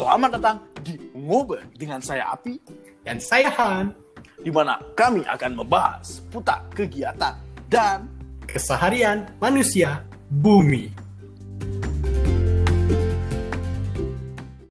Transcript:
Selamat datang di Ngobrol dengan saya Api Dan saya Han, di mana kami akan membahas putar kegiatan dan keseharian manusia bumi.